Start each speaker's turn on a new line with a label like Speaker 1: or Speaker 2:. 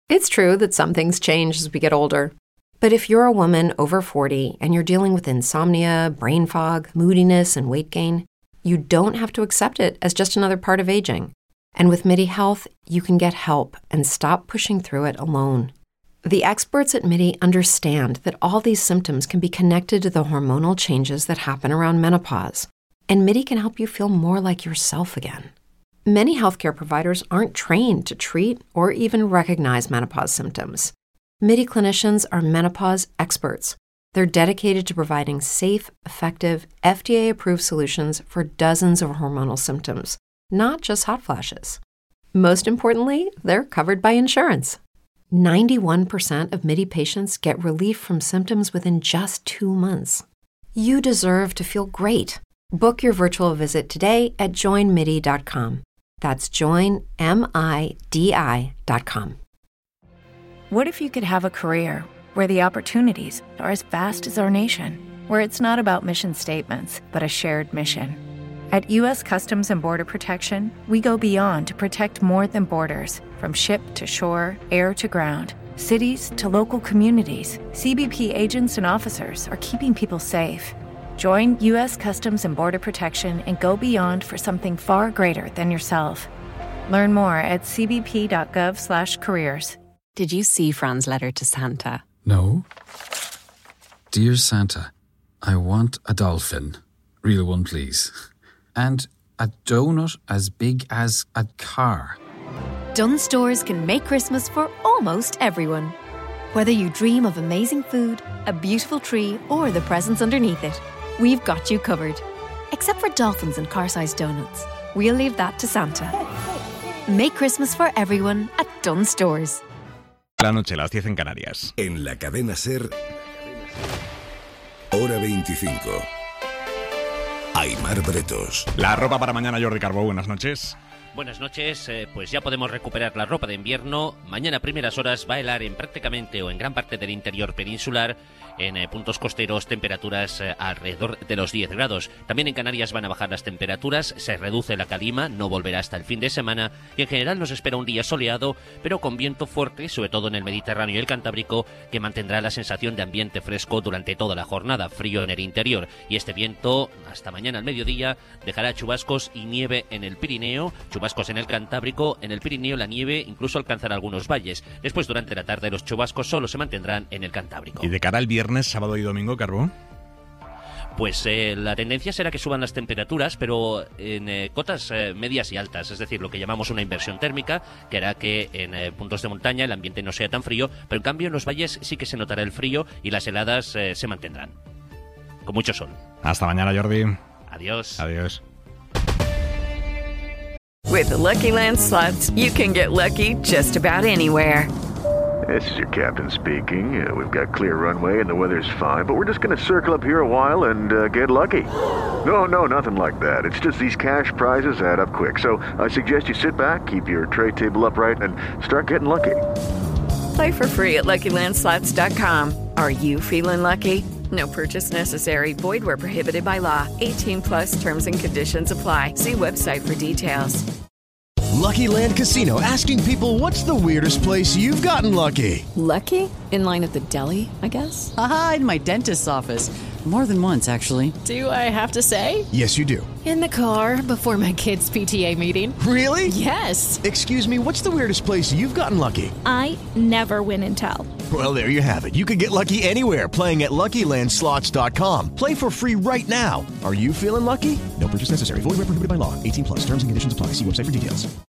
Speaker 1: It's true that some things change as we get older. But if you're a woman over 40 and you're dealing with insomnia, brain fog, moodiness, and weight gain, you don't have to accept it as just another part of aging. And with MIDI Health, you can get help and stop pushing through it alone. The experts at MIDI understand that all these symptoms can be connected to the hormonal changes that happen around menopause, and MIDI can help you feel more like yourself again. Many healthcare providers aren't trained to treat or even recognize menopause symptoms. MIDI clinicians are menopause experts. They're dedicated to providing safe, effective, FDA-approved solutions for dozens of hormonal symptoms, not just hot flashes. Most importantly, they're covered by insurance. 91% of MIDI patients get relief from symptoms within just 2 months. You deserve to feel great. Book your virtual visit today at joinmidi.com. That's joinmidi.com.
Speaker 2: What if you could have a career where the opportunities are as vast as our nation, where it's not about mission statements, but a shared mission? At U.S. Customs and Border Protection, we go beyond to protect more than borders. From ship to shore, air to ground, cities to local communities, CBP agents and officers are keeping people safe. Join U.S. Customs and Border Protection and go beyond for something far greater than yourself. Learn more at cbp.gov/careers.
Speaker 3: Did you see Fran's letter to Santa?
Speaker 4: No. Dear Santa, I want a dolphin. Real one, please. And a donut as big as a car.
Speaker 5: Dunnes Stores can make Christmas for almost everyone. Whether you dream of amazing food, a beautiful tree, or the presents underneath it, we've got you covered. Except for dolphins and car-sized donuts. We'll leave that to Santa. Make Christmas for everyone at Dunnes Stores.
Speaker 6: La noche, las 10 en Canarias.
Speaker 7: En la cadena SER, hora 25. Aimar Bretos.
Speaker 6: La ropa para mañana, Jordi Carbó, buenas noches.
Speaker 8: Buenas noches, pues ya podemos recuperar la ropa de invierno. Mañana a primeras horas va a helar en prácticamente o en gran parte del interior peninsular. En puntos costeros temperaturas alrededor de los 10 grados. También en Canarias van a bajar las temperaturas, se reduce la calima, no volverá hasta el fin de semana y en general nos espera un día soleado, pero con viento fuerte, sobre todo en el Mediterráneo y el Cantábrico, que mantendrá la sensación de ambiente fresco durante toda la jornada, frío en el interior. Y este viento, hasta mañana al mediodía, dejará chubascos y nieve en el Pirineo, chubascos en el Cantábrico, en el Pirineo la nieve incluso alcanzará algunos valles. Después, durante la tarde, los chubascos solo se mantendrán en el Cantábrico.
Speaker 6: Y de cara al viernes, sábado y domingo, Carbó.
Speaker 8: Pues la tendencia será que suban las temperaturas, pero en cotas medias y altas, es decir, lo que llamamos una inversión térmica, que hará que en puntos de montaña el ambiente no sea tan frío, pero en cambio en los valles sí que se notará el frío y las heladas se mantendrán. Con mucho sol.
Speaker 6: Hasta mañana, Jordi.
Speaker 8: Adiós.
Speaker 6: Adiós.
Speaker 2: With the Lucky Land Slots, you can get lucky just about anywhere.
Speaker 9: This is your captain speaking. We've got clear runway and the weather's fine, but we're just going to circle up here a while and get lucky. No, nothing like that. It's just these cash prizes add up quick. So I suggest you sit back, keep your tray table upright, and start getting lucky.
Speaker 2: Play for free at LuckyLandSlots.com. Are you feeling lucky? No purchase necessary. Void where prohibited by law. 18 plus terms and conditions apply. See website for details.
Speaker 10: Lucky Land Casino, asking people, what's the weirdest place you've gotten lucky?
Speaker 11: Lucky? In line at the deli, I guess?
Speaker 12: Aha, in my dentist's office. More than once, actually.
Speaker 11: Do I have to say?
Speaker 10: Yes, you do.
Speaker 11: In the car before my kids' PTA meeting.
Speaker 10: Really?
Speaker 11: Yes.
Speaker 10: Excuse me, what's the weirdest place you've gotten lucky?
Speaker 13: I never win and tell.
Speaker 10: Well, there you have it. You can get lucky anywhere, playing at LuckyLandSlots.com. Play for free right now. Are you feeling lucky? No purchase necessary. Void where prohibited by law. 18 plus. Terms and conditions apply. See website for details.